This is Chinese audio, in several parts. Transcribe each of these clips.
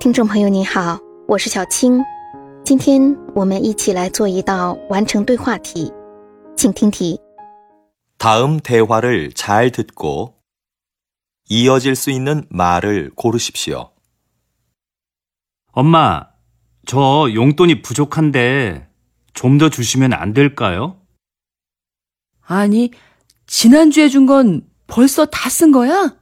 听众朋友你好，我是小青，今天我们一起来做一道完成对话题，请听题。 다음 대화를 잘 듣고 이어질 수 있는 말을 고르십시오. 엄마, 저 용돈이 부족한데 좀 더 주시면 안 될까요? 아니, 지난주에 준 건 벌써 다 쓴 거야?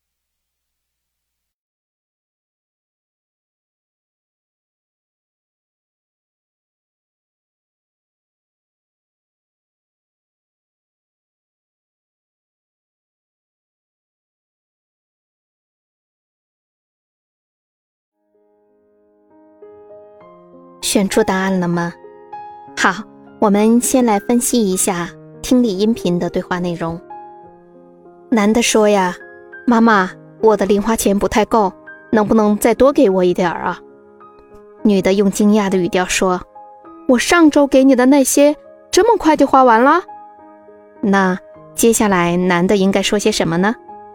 选出答案了吗？好，我们先来分析一下听力音频的对话内容。男的说呀，妈妈，我的零花钱不太够，能不能再多给我一点啊？女的用惊讶的语调说，我上周给你的那些这么快就花完了？那接下来男的应该说些什么呢？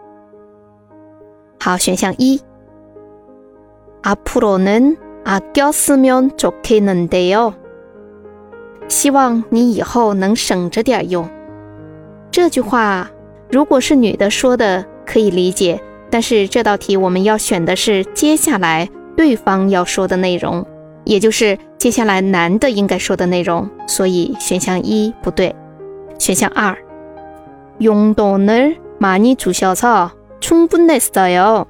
好，选项一， 앞으로는 아꼈으면 좋겠는데요. 希望你以后能省着点用。这句话如果是女的说的可以理解，但是这道题我们要选的是接下来对方要说的内容，也就是接下来男的应该说的内容，所以选项一不对。选项二， 용돈을 많이 주셔서 충분했어요.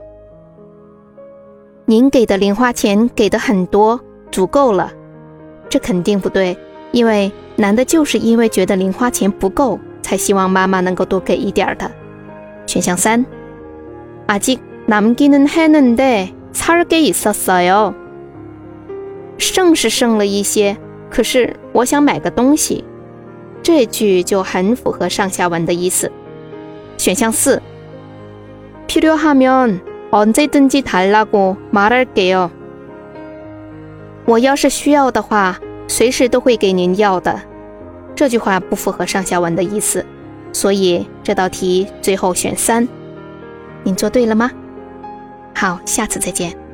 您给的零花钱给的很多，足够了。这肯定不对，因为男的就是因为觉得零花钱不够，才希望妈妈能够多给一点的。选项三， 아직 남기는 했는데 살 게 있었어요. 剩是剩了一些，可是我想买个东西。这句就很符合上下文的意思。选项四， 필요하면 언제든지 달라고 말할게요. 我要是需要的话，随时都会给您要的。这句话不符合上下文的意思，所以这道题最后选三。您做对了吗？好，下次再见。